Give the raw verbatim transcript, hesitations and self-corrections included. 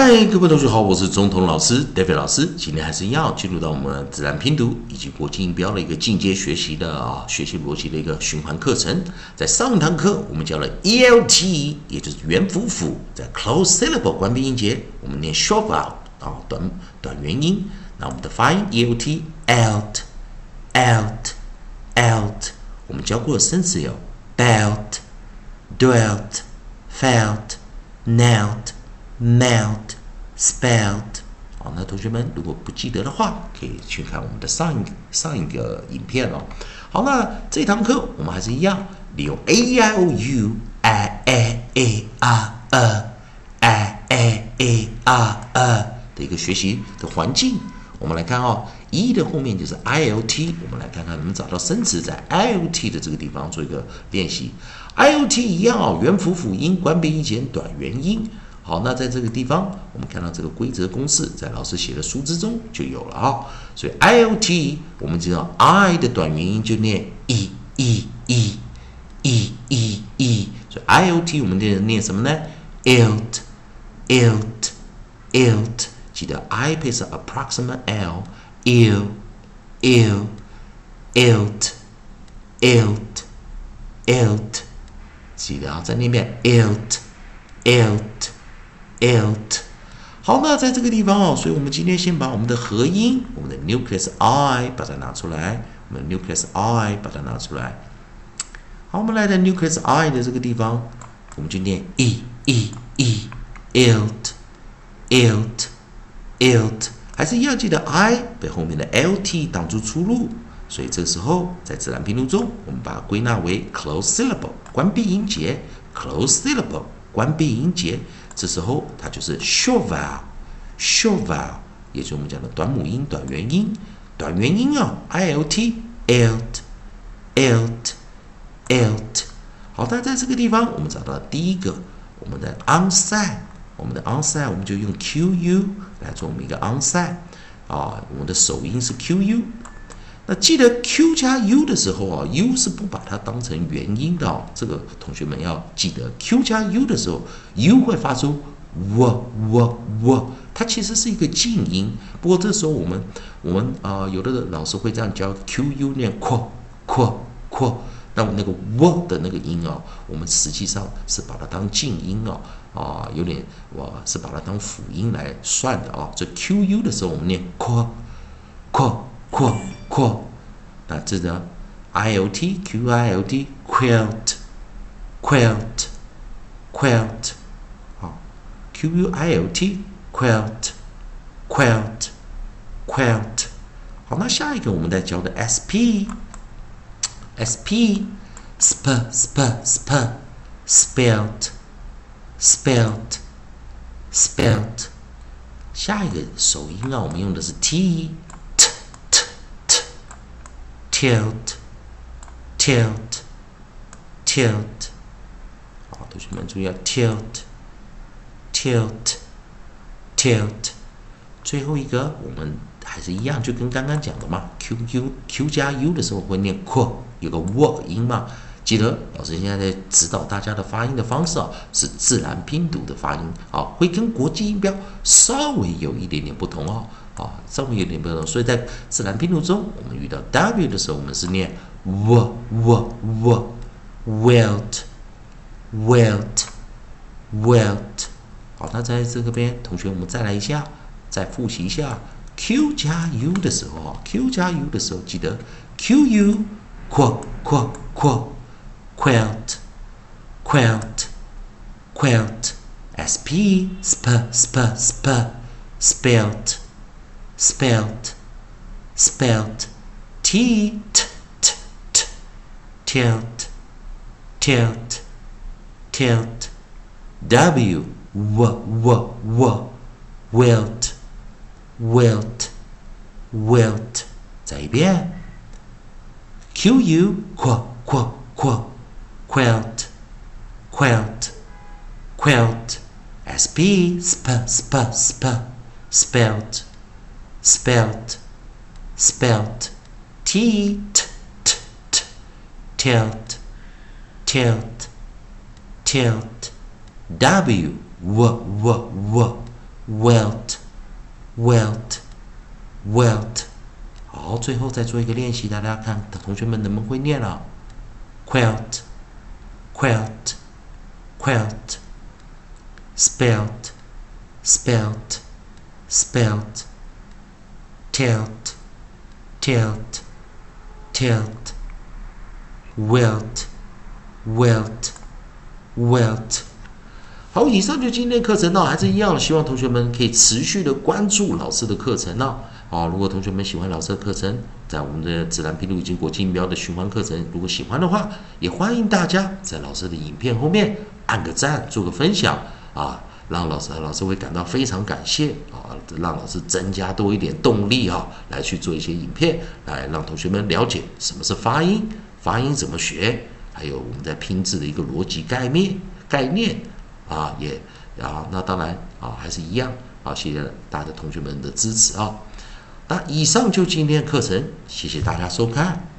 嗨，各位同学好，我是中通老师 David 老师。今天还是要进入到我们自然拼读以及国际音标的一个进阶学习的啊，学习逻辑的一个循环课程。在上一堂课我们教了 E L T， 也就是元辅辅，在 close syllable 关闭音节，我们念 short vowel 啊，短短元音。那我们的发音 E L T alt alt alt， 我们教过的生词有 belt dwelt felt knelt melt spelt。 好，那同学们如果不记得的话，可以去看我们的上一上一个影片哦。好，那这堂课我们还是一样，利用 A E I O U I A A R E I A A R E 的一个学习的环境。我们来看哦 ，E 的后面就是 I L T， 我们来看看能不能找到生词在 I L T 的这个地方做一个练习。I L T 一样哦，元辅辅音，关闭音节，短元音。好，那在这个地方，我们看到这个规则公式，在老师写的书之中就有了啊、哦。所以 I L T， 我们知道 I 的短元音就念 e e e e e e， 所以 I L T 我们念念什么呢 ？ilt ilt ilt， 记得 I 配上 approximate l ill ill ilt ilt ilt， 记得啊，再念一遍 ilt ilt ilt。 好，那在这个地方哦，所以我们今天先把我们的合音，我们的 nucleus I 把它拿出来，我们的 nucleus I 把它拿出来。好，我们来到 nucleus I 的这个地方，我们就念 e e e ilt ilt ilt， 还是一样记得 I 被后面的 lt 挡住出路，所以这个时候在自然拼读中，我们把它归纳为 close syllable 关闭音节 ，close syllable 关闭音节。这时候它就是 short vowel short vowel， 也就是我们讲的短母音、短元音。短元音啊 ，ilt ilt ilt ilt。好，那在这个地方我们找到第一个，我们的 onside， 我们的 onside 我们就用 qu 来做我们一个 onside 啊，我们的首音是 qu。那记得 Q 加 U 的时候啊 ，U 是不把它当成元音的哦。这个同学们要记得 ，Q 加 U 的时候 ，U 会发出 w w w， 它其实是一个静音。不过这时候我们我们啊、呃，有的老师会这样教 Q U 念 q q q， 那我那个 w 的那个音啊，我们实际上是把它当静音哦，啊，有点我是把它当辅音来算的啊。所以 Q U 的时候我们念 q q q q， 那这个 I L T Q I L T quilt quilt quilt， 好 Q U I L T quilt quilt quilt。 好，那下一个我们再教的 S P S P sp sp sp spelt spelt spelt。 下一个首音啊，我们用的是 T tilt tilt tilt。 好，同学们注意啊 tilt tilt tilt。 最后一个我们还是一样，就跟刚刚讲的嘛 ，Q U Q 加 U 的时候会念 q， 有个 w 音嘛。记得老师现在在指导大家的发音的方式啊，是自然拼读的发音啊，会跟国际音标稍微有一点点不同哦。啊，稍微有点不同，所以在自然拼读中，我们遇到 W 的时候，我们是念 w w w wilt wilt wilt。 好，那在这个边，同学我们再来一下，再复习一下 Q 加 U 的时候啊 ，Q 加 U 的时候记得 Q U q q q quilt quilt quilt。 S P sp sp sp spelt spelt spelt。 T t t t tilt tilt tilt。 W w w w wilt wilt wilt。 再一遍 Q U q q q quilt quilt quilt。 S P sp sp sp spelt spelt spelt。 T t t t tilt tilt tilt。 W w w w ，wilt wilt wilt。好，最后再做一个练习，大家看同学们能不能会念了 ？quilt quilt quilt spelt spelt spelt tilt tilt tilt wilt wilt wilt。好，以上就今天的课程呢，还是一样，希望同学们可以持续的关注老师的课程呢。好，如果同学们喜欢老师的课程，在我们的自然拼读以及国际音标的循环课程，如果喜欢的话，也欢迎大家在老师的影片后面按个赞，做个分享啊，让老师老师会感到非常感谢啊，让老师增加多一点动力啊，来去做一些影片，来让同学们了解什么是发音，发音怎么学，还有我们在拼字的一个逻辑概念概念啊，也啊，那当然啊，还是一样啊，谢谢大家同学们的支持啊。那以上就今天的课程，谢谢大家收看。